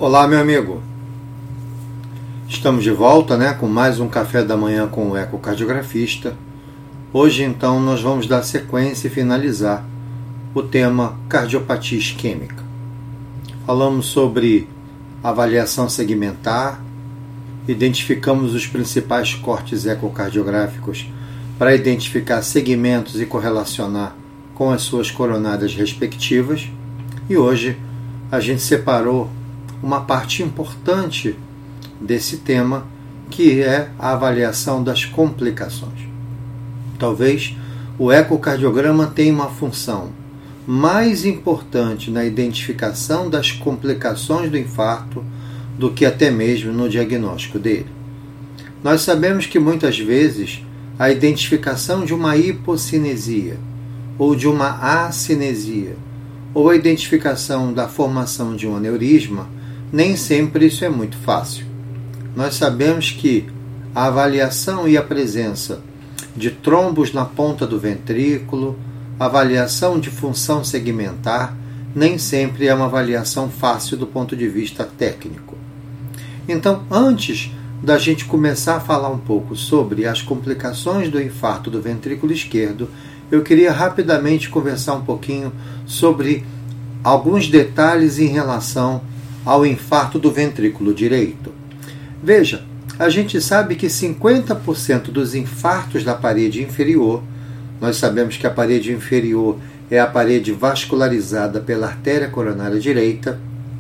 Olá, meu amigo. Estamos de volta, com mais um café da manhã com o ecocardiografista. Hoje, então, nós vamos dar sequência e finalizar o tema cardiopatia isquêmica. Falamos sobre avaliação segmentar, identificamos os principais cortes ecocardiográficos para identificar segmentos e correlacionar com as suas coronárias respectivas. E hoje a gente separou uma parte importante desse tema, que é a avaliação das complicações. Talvez o ecocardiograma tenha uma função mais importante na identificação das complicações do infarto do que até mesmo no diagnóstico dele. Nós sabemos que muitas vezes a identificação de uma hipocinesia ou de uma acinesia ou a identificação da formação de um aneurisma, nem sempre isso é muito fácil. Nós sabemos que a avaliação e a presença de trombos na ponta do ventrículo, a avaliação de função segmentar, nem sempre é uma avaliação fácil do ponto de vista técnico. Então, antes da gente começar a falar um pouco sobre as complicações do infarto do ventrículo esquerdo, eu queria rapidamente conversar um pouquinho sobre alguns detalhes em relação ao infarto do ventrículo direito. Veja, a gente sabe que 50% dos infartos da parede inferior, nós sabemos que a parede inferior é a parede vascularizada pela artéria coronária direita,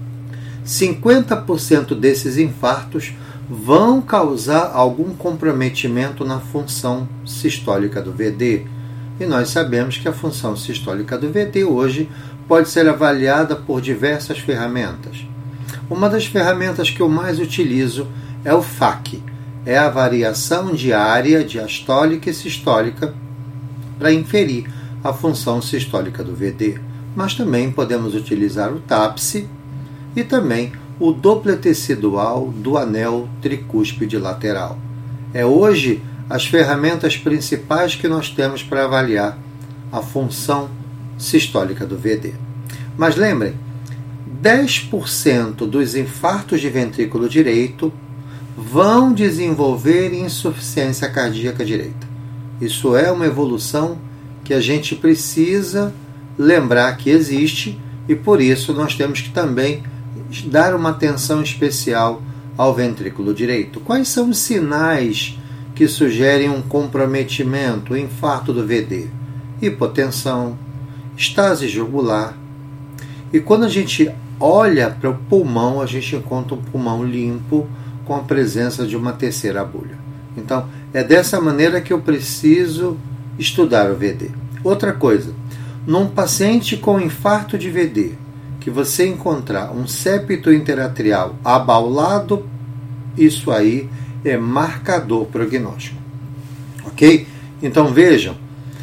50% desses infartos vão causar algum comprometimento na função sistólica do VD. E nós sabemos que a função sistólica do VD hoje pode ser avaliada por diversas ferramentas. Uma das ferramentas que eu mais utilizo é o FAQ, é a variação diária diastólica e sistólica para inferir a função sistólica do VD. Mas também podemos utilizar o TAPSE e também o Doppler tecidual do anel tricúspide lateral. É hoje as ferramentas principais que nós temos para avaliar a função sistólica do VD. Mas lembrem, 10% dos infartos de ventrículo direito vão desenvolver insuficiência cardíaca direita. Isso é uma evolução que a gente precisa lembrar que existe e por isso nós temos que também dar uma atenção especial ao ventrículo direito. Quais são os sinais que sugerem um comprometimento, infarto do VD? Hipotensão, estase jugular. E quando a gente olha para o pulmão, a gente encontra um pulmão limpo com a presença de uma terceira bolha. Então, é dessa maneira que eu preciso estudar o VD. Outra coisa, num paciente com infarto de VD, que você encontrar um septo interatrial abaulado, isso aí é marcador prognóstico. Ok? Então vejam,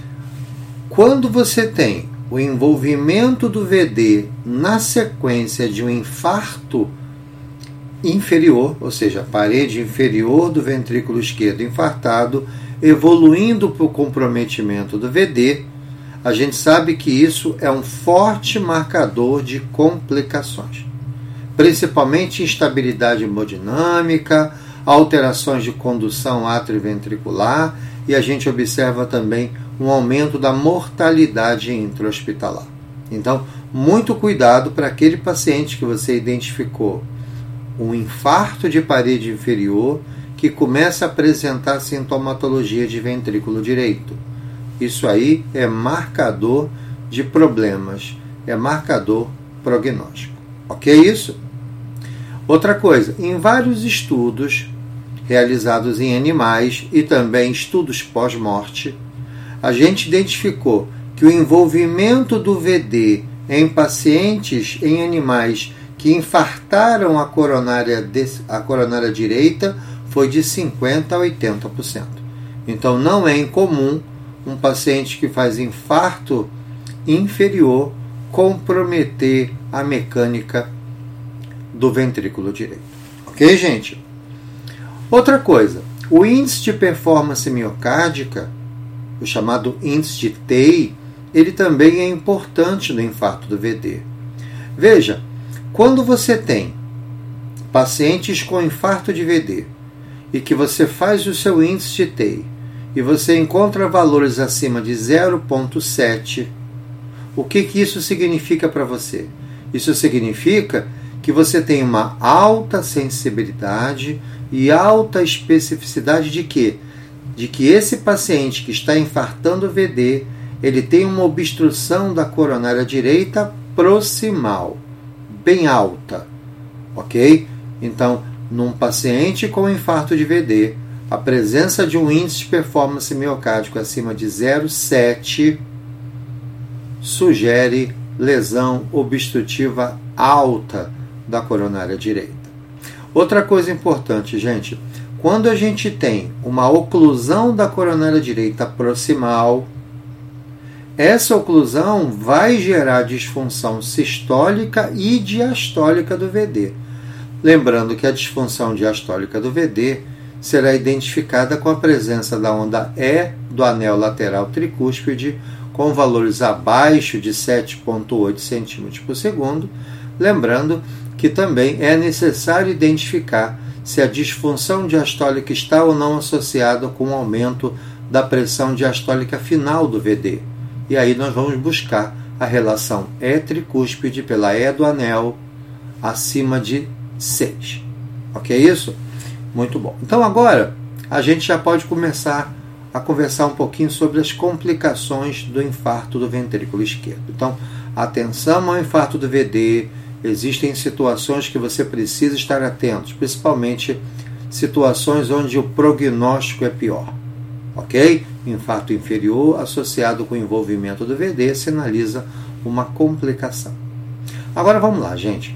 quando você tem o envolvimento do VD na sequência de um infarto inferior, ou seja, a parede inferior do ventrículo esquerdo infartado, evoluindo para o comprometimento do VD, a gente sabe que isso é um forte marcador de complicações, principalmente instabilidade hemodinâmica, alterações de condução atrioventricular, e a gente observa também um aumento da mortalidade intra-hospitalar. Então, muito cuidado para aquele paciente que você identificou um infarto de parede inferior que começa a apresentar sintomatologia de ventrículo direito. Isso aí é marcador de problemas, é marcador prognóstico. Ok isso? Outra coisa, em vários estudos realizados em animais e também estudos pós-morte, a gente identificou que o envolvimento do VD em pacientes, em animais que infartaram a coronária direita foi de 50% a 80%. Então não é incomum um paciente que faz infarto inferior comprometer a mecânica do ventrículo direito. Ok, gente? Outra coisa, o índice de performance miocárdica, o chamado índice de TEI, ele também é importante no infarto do VD. Veja, quando você tem pacientes com infarto de VD, e que você faz o seu índice de TEI, e você encontra valores acima de 0,7, o que isso significa para você? Isso significa que você tem uma alta sensibilidade e alta especificidade de quê? De que esse paciente que está infartando VD, ele tem uma obstrução da coronária direita proximal, bem alta, ok? Então, num paciente com infarto de VD, a presença de um índice de performance miocárdico acima de 0,7 sugere lesão obstrutiva alta da coronária direita. Outra coisa importante, gente, quando a gente tem uma oclusão da coronária direita proximal, essa oclusão vai gerar disfunção sistólica e diastólica do VD. Lembrando que a disfunção diastólica do VD será identificada com a presença da onda E do anel lateral tricúspide com valores abaixo de 7,8 cm por segundo. Lembrando que também é necessário identificar se a disfunção diastólica está ou não associada com o aumento da pressão diastólica final do VD. E aí nós vamos buscar a relação E tricúspide pela E do anel acima de 6. Ok isso? Muito bom. Então agora a gente já pode começar a conversar um pouquinho sobre as complicações do infarto do ventrículo esquerdo. Então, atenção ao infarto do VD. Existem situações que você precisa estar atento, principalmente situações onde o prognóstico é pior. Ok? Infarto inferior associado com o envolvimento do VD sinaliza uma complicação. Agora vamos lá, gente.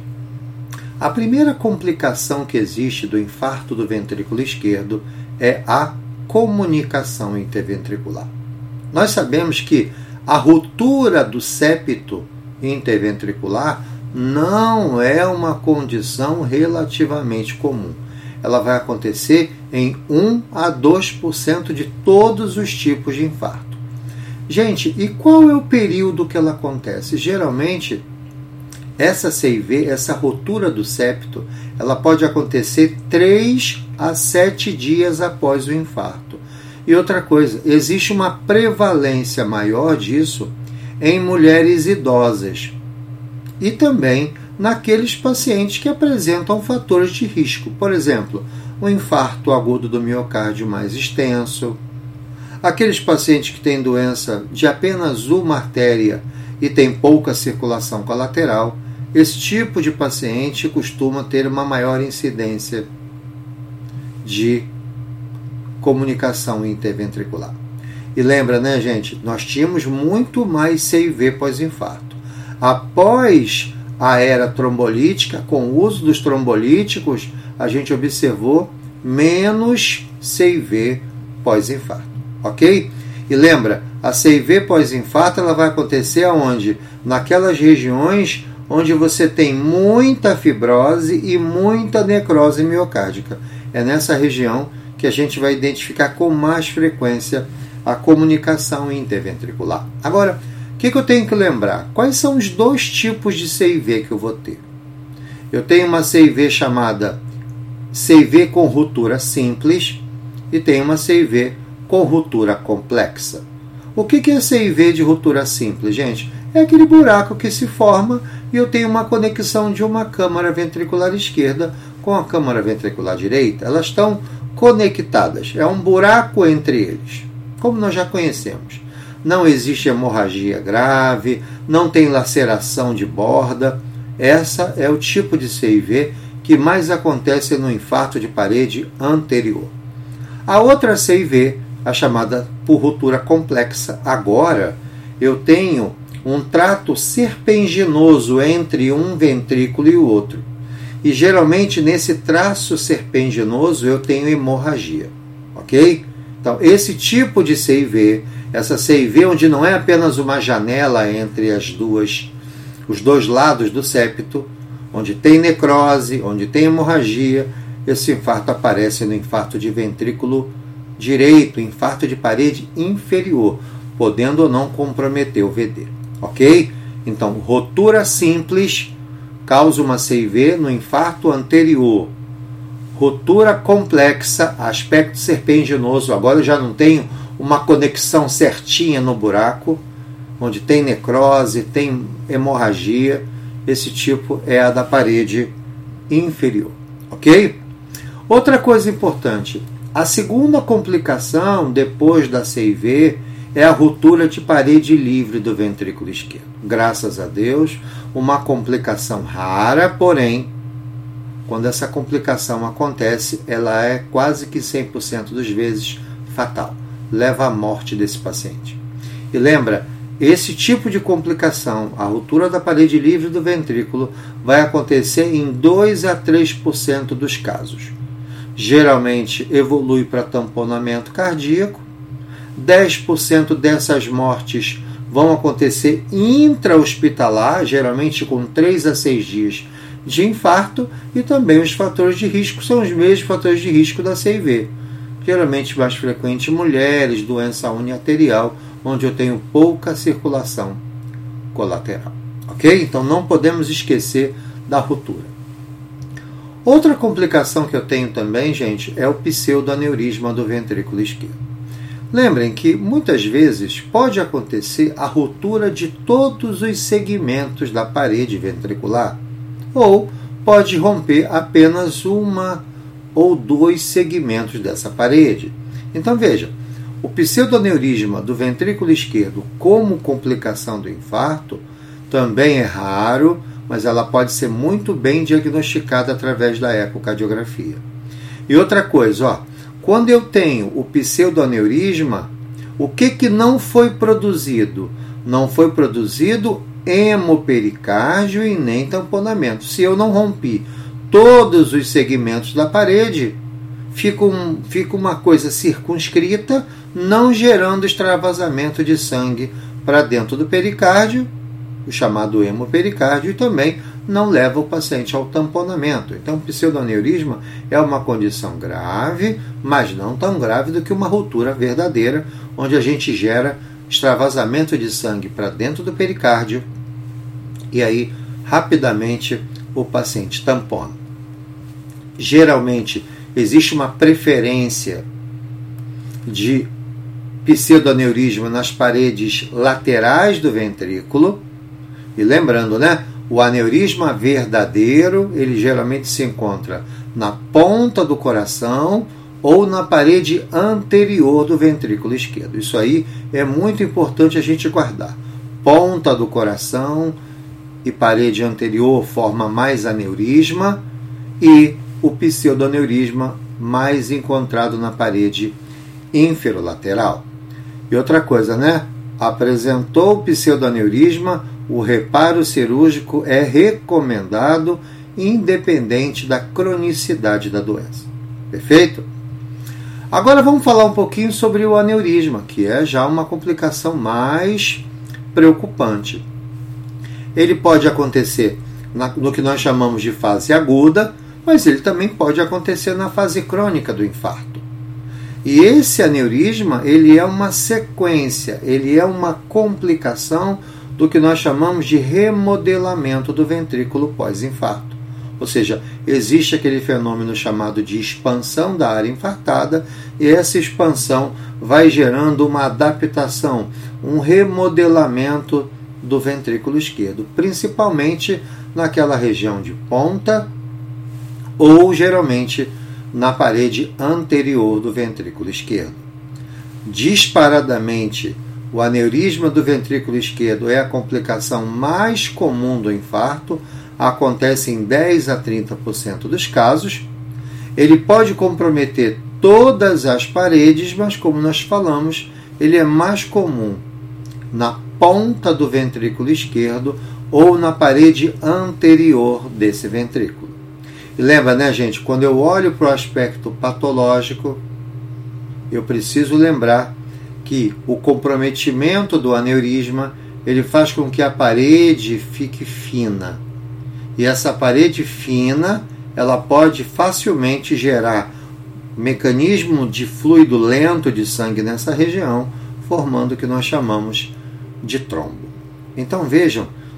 A primeira complicação que existe do infarto do ventrículo esquerdo é a comunicação interventricular. Nós sabemos que a ruptura do septo interventricular não é uma condição relativamente comum. Ela vai acontecer em 1 a 2% de todos os tipos de infarto. Gente, e qual é o período que ela acontece? Geralmente, essa CIV, essa ruptura do septo, ela pode acontecer 3 a 7 dias após o infarto. E outra coisa, existe uma prevalência maior disso em mulheres idosas e também naqueles pacientes que apresentam fatores de risco. Por exemplo, o infarto agudo do miocárdio mais extenso, aqueles pacientes que têm doença de apenas uma artéria e tem pouca circulação colateral. Esse tipo de paciente costuma ter uma maior incidência de comunicação interventricular. E lembra, né, gente? Nós tínhamos muito mais CIV pós-infarto. Após a era trombolítica, com o uso dos trombolíticos, a gente observou menos CIV pós-infarto, ok? E lembra, a CIV pós-infarto ela vai acontecer aonde? Naquelas regiões onde você tem muita fibrose e muita necrose miocárdica. É nessa região que a gente vai identificar com mais frequência a comunicação interventricular. Agora, o que eu tenho que lembrar? Quais são os dois tipos de CIV que eu vou ter? Eu tenho uma CIV chamada CIV com ruptura simples e tenho uma CIV com ruptura complexa. O que é CIV de ruptura simples, gente? É aquele buraco que se forma e eu tenho uma conexão de uma câmara ventricular esquerda com a câmara ventricular direita. Elas estão conectadas. É um buraco entre eles, como nós já conhecemos. Não existe hemorragia grave, não tem laceração de borda. Essa é o tipo de CIV que mais acontece no infarto de parede anterior. A outra CIV, a chamada por ruptura complexa, agora eu tenho um trato serpenginoso entre um ventrículo e o outro. E geralmente nesse traço serpenginoso eu tenho hemorragia, ok? Então esse tipo de CIV, essa CIV onde não é apenas uma janela entre os dois lados do septo, onde tem necrose, onde tem hemorragia, esse infarto aparece no infarto de ventrículo direito, infarto de parede inferior, podendo ou não comprometer o VD, ok? Então, ruptura simples causa uma CIV no infarto anterior. Ruptura complexa, aspecto serpenginoso. Agora eu já não tenho uma conexão certinha no buraco, onde tem necrose, tem hemorragia. Esse tipo é a da parede inferior. Ok? Outra coisa importante. A segunda complicação depois da CIV é a ruptura de parede livre do ventrículo esquerdo. Graças a Deus, uma complicação rara, porém, quando essa complicação acontece, ela é quase que 100% das vezes fatal. Leva à morte desse paciente. E lembra, esse tipo de complicação, a ruptura da parede livre do ventrículo, vai acontecer em 2 a 3% dos casos. Geralmente evolui para tamponamento cardíaco. 10% dessas mortes vão acontecer intra-hospitalar, geralmente com 3 a 6 dias de infarto, e também os fatores de risco são os mesmos fatores de risco da CIV. Geralmente mais frequente em mulheres, doença uniarterial, onde eu tenho pouca circulação colateral. Ok? Então não podemos esquecer da ruptura. Outra complicação que eu tenho também, gente, é o pseudoaneurisma do ventrículo esquerdo. Lembrem que muitas vezes pode acontecer a ruptura de todos os segmentos da parede ventricular, ou pode romper apenas uma ou 2 segmentos dessa parede. Então veja, o pseudoaneurisma do ventrículo esquerdo como complicação do infarto também é raro, mas ela pode ser muito bem diagnosticada através da ecocardiografia. E outra coisa, quando eu tenho o pseudoaneurisma, o que não foi produzido? Não foi produzido hemopericárdio e nem tamponamento. Se eu não rompi todos os segmentos da parede, fica uma coisa circunscrita, não gerando extravasamento de sangue para dentro do pericárdio, o chamado hemopericárdio, e também não leva o paciente ao tamponamento. Então, o pseudoaneurisma é uma condição grave, mas não tão grave do que uma ruptura verdadeira, onde a gente gera extravasamento de sangue para dentro do pericárdio e aí rapidamente o paciente tampona. Geralmente existe uma preferência de pseudoaneurisma nas paredes laterais do ventrículo. E lembrando, o aneurisma verdadeiro, ele geralmente se encontra na ponta do coração ou na parede anterior do ventrículo esquerdo. Isso aí é muito importante a gente guardar. Ponta do coração e parede anterior forma mais aneurisma, e o pseudoaneurisma mais encontrado na parede inferolateral. E outra coisa, apresentou o pseudoaneurisma, o reparo cirúrgico é recomendado, independente da cronicidade da doença. Perfeito? Agora vamos falar um pouquinho sobre o aneurisma, que é já uma complicação mais preocupante. Ele pode acontecer no que nós chamamos de fase aguda, mas ele também pode acontecer na fase crônica do infarto. E esse aneurisma, ele é uma sequência, ele é uma complicação do que nós chamamos de remodelamento do ventrículo pós-infarto. Ou seja, existe aquele fenômeno chamado de expansão da área infartada, e essa expansão vai gerando uma adaptação, um remodelamento do ventrículo esquerdo, principalmente naquela região de ponta ou geralmente na parede anterior do ventrículo esquerdo. Disparadamente, o aneurisma do ventrículo esquerdo é a complicação mais comum do infarto, acontece em 10 a 30% dos casos. Ele pode comprometer todas as paredes, mas como nós falamos, ele é mais comum na ponta do ventrículo esquerdo ou na parede anterior desse ventrículo. E lembra, gente, quando eu olho para o aspecto patológico, eu preciso lembrar que o comprometimento do aneurisma, ele faz com que a parede fique fina. E essa parede fina, ela pode facilmente gerar mecanismo de fluido lento de sangue nessa região, formando o que nós chamamos de trombo. Então vejam,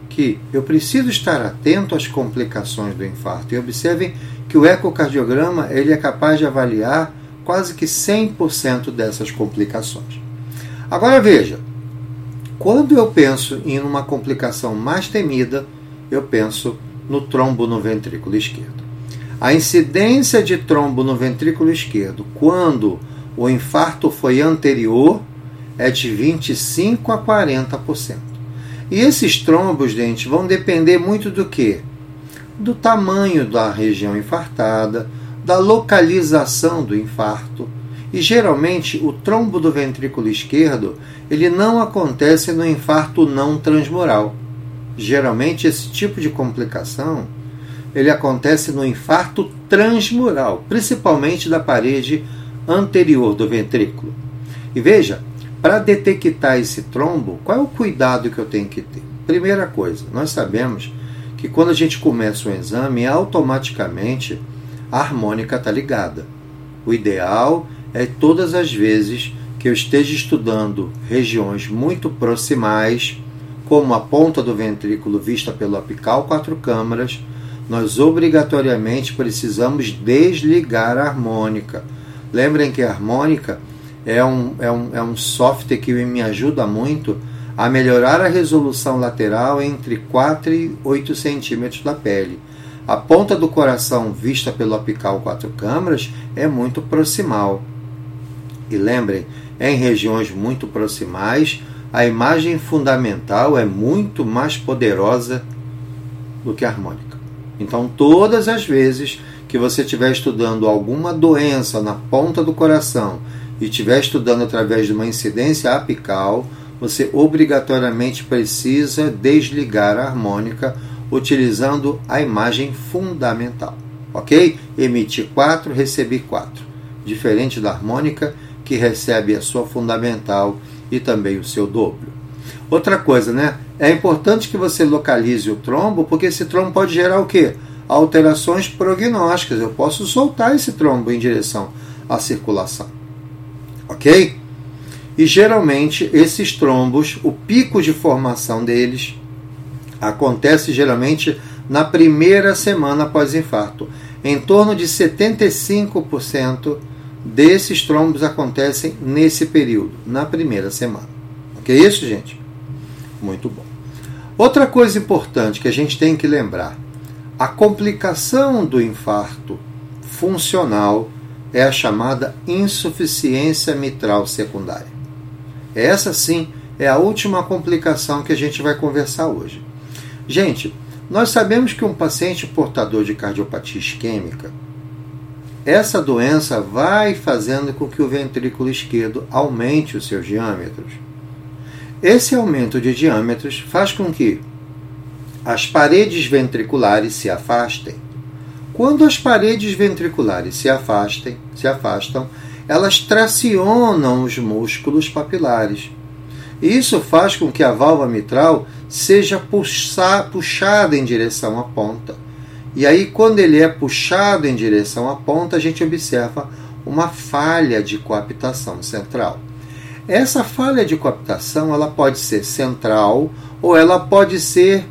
que eu preciso estar atento às complicações do infarto. E observem que o ecocardiograma ele é capaz de avaliar quase que 100% dessas complicações. Agora veja, quando eu penso em uma complicação mais temida, eu penso no trombo no ventrículo esquerdo. A incidência de trombo no ventrículo esquerdo, quando o infarto foi anterior, é de 25% a 40%. E esses trombos, gente, vão depender muito do quê? Do tamanho da região infartada, da localização do infarto. E geralmente o trombo do ventrículo esquerdo, ele não acontece no infarto não transmural. Geralmente esse tipo de complicação, ele acontece no infarto transmural, principalmente da parede anterior do ventrículo. E veja, para detectar esse trombo, qual é o cuidado que eu tenho que ter? Primeira coisa, nós sabemos que quando a gente começa um exame, automaticamente a harmônica está ligada. O ideal é todas as vezes que eu esteja estudando regiões muito proximais, como a ponta do ventrículo vista pelo apical 4 câmaras, nós obrigatoriamente precisamos desligar a harmônica. Lembrem que a harmônica é um software que me ajuda muito a melhorar a resolução lateral entre 4 e 8 centímetros da pele. A ponta do coração vista pelo apical 4 câmaras é muito proximal. E lembrem, em regiões muito proximais, a imagem fundamental é muito mais poderosa do que a harmônica. Então, todas as vezes que você estiver estudando alguma doença na ponta do coração e estiver estudando através de uma incidência apical, você obrigatoriamente precisa desligar a harmônica utilizando a imagem fundamental. Ok? Emiti 4, recebi 4. Diferente da harmônica, que recebe a sua fundamental e também o seu dobro. Outra coisa, né? É importante que você localize o trombo, porque esse trombo pode gerar o quê? Alterações prognósticas. Eu posso soltar esse trombo em direção à circulação. Ok? E geralmente esses trombos, o pico de formação deles acontece geralmente na primeira semana após infarto. Em torno de 75% desses trombos acontecem nesse período, na primeira semana. Ok isso, gente? Muito bom. Outra coisa importante que a gente tem que lembrar, a complicação do infarto funcional é a chamada insuficiência mitral secundária. Essa sim é a última complicação que a gente vai conversar hoje. Gente, nós sabemos que um paciente portador de cardiopatia isquêmica, essa doença vai fazendo com que o ventrículo esquerdo aumente os seus diâmetros. Esse aumento de diâmetros faz com que as paredes ventriculares se afastem. Quando as paredes ventriculares se afastam, elas tracionam os músculos papilares. Isso faz com que a válvula mitral seja puxada em direção à ponta. E aí, quando ele é puxado em direção à ponta, a gente observa uma falha de coaptação central. Essa falha de coaptação ela pode ser central ou ela pode ser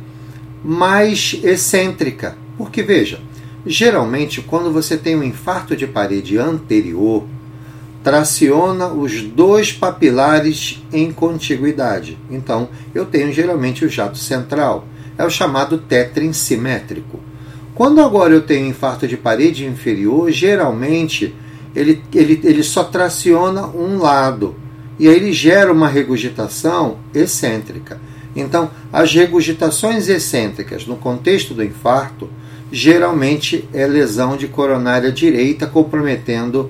mais excêntrica. Porque, veja, geralmente, quando você tem um infarto de parede anterior, traciona os dois papilares em contiguidade. Então, eu tenho geralmente o jato central. É o chamado tétrin simétrico. Quando agora eu tenho infarto de parede inferior, geralmente ele só traciona um lado. E aí ele gera uma regurgitação excêntrica. Então, as regurgitações excêntricas no contexto do infarto, geralmente é lesão de coronária direita comprometendo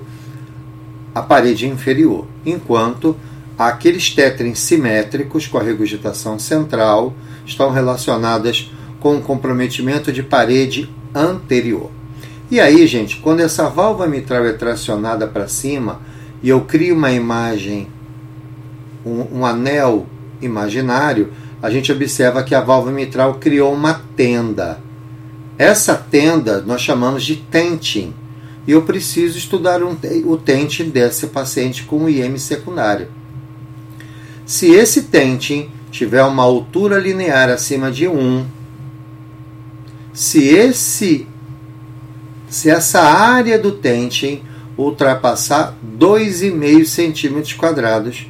a parede inferior, enquanto aqueles tétrins simétricos com a regurgitação central estão relacionadas com o comprometimento de parede anterior. E aí, gente, quando essa válvula mitral é tracionada para cima e eu crio uma imagem, um anel imaginário, a gente observa que a válvula mitral criou uma tenda. Essa tenda nós chamamos de tenting. E eu preciso estudar o tenting desse paciente com IEM secundário. Se esse tenting tiver uma altura linear acima de 1, se essa área do Tentgen ultrapassar 2,5 centímetros quadrados,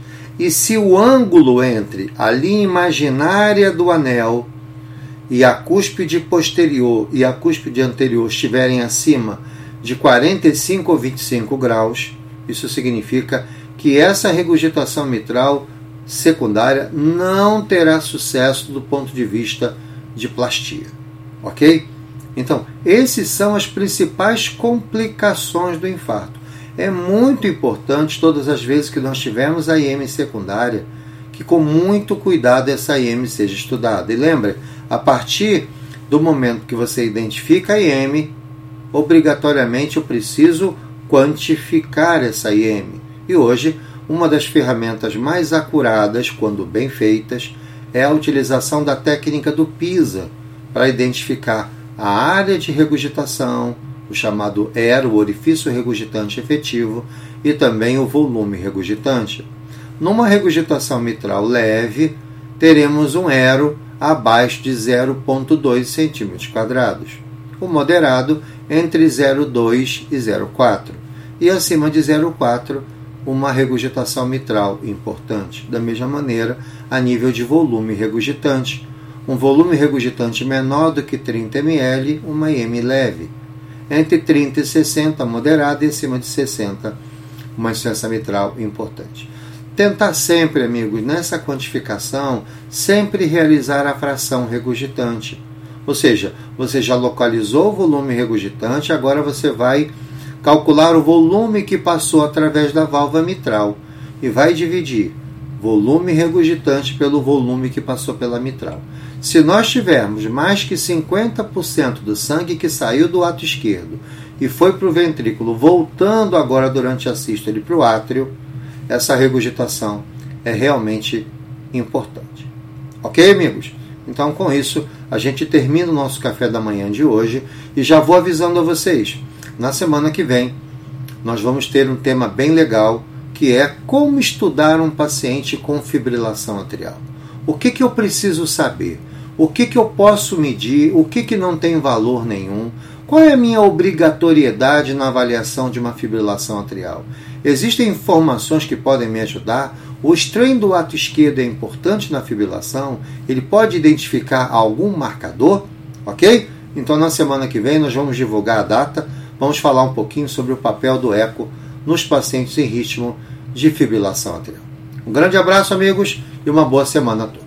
e se o ângulo entre a linha imaginária do anel e a cúspide posterior e a cúspide anterior estiverem acima de 45 ou 25 graus, isso significa que essa regurgitação mitral secundária não terá sucesso do ponto de vista de plastia. Ok? Então, esses são as principais complicações do infarto. É muito importante, todas as vezes que nós tivermos a IM secundária, que com muito cuidado essa IM seja estudada. E lembre, a partir do momento que você identifica a IM, obrigatoriamente eu preciso quantificar essa IM. E hoje, uma das ferramentas mais acuradas, quando bem feitas, é a utilização da técnica do PISA para identificar a área de regurgitação, o chamado ERO, o orifício regurgitante efetivo, e também o volume regurgitante. Numa regurgitação mitral leve, teremos um ERO abaixo de 0,2 cm². O moderado entre 0,2 e 0,4. E acima de 0,4, uma regurgitação mitral importante. Da mesma maneira, a nível de volume regurgitante. Um volume regurgitante menor do que 30 ml, uma IM leve. Entre 30 e 60, moderada, e acima de 60, uma insuficiência mitral importante. Tentar sempre, amigos, nessa quantificação, sempre realizar a fração regurgitante. Ou seja, você já localizou o volume regurgitante, agora você vai calcular o volume que passou através da válvula mitral e vai dividir volume regurgitante pelo volume que passou pela mitral. Se nós tivermos mais que 50% do sangue que saiu do ato esquerdo e foi para o ventrículo, voltando agora durante a sístole para o átrio, essa regurgitação é realmente importante. Ok, amigos? Então, com isso, a gente termina o nosso café da manhã de hoje e já vou avisando a vocês. Na semana que vem, nós vamos ter um tema bem legal, que é como estudar um paciente com fibrilação atrial. O que eu preciso saber? O que eu posso medir? O que não tem valor nenhum? Qual é a minha obrigatoriedade na avaliação de uma fibrilação atrial? Existem informações que podem me ajudar? O strain do ato esquerdo é importante na fibrilação? Ele pode identificar algum marcador? Ok? Então, na semana que vem, nós vamos divulgar a data. Vamos falar um pouquinho sobre o papel do eco nos pacientes em ritmo de fibrilação atrial. Um grande abraço, amigos, e uma boa semana a todos.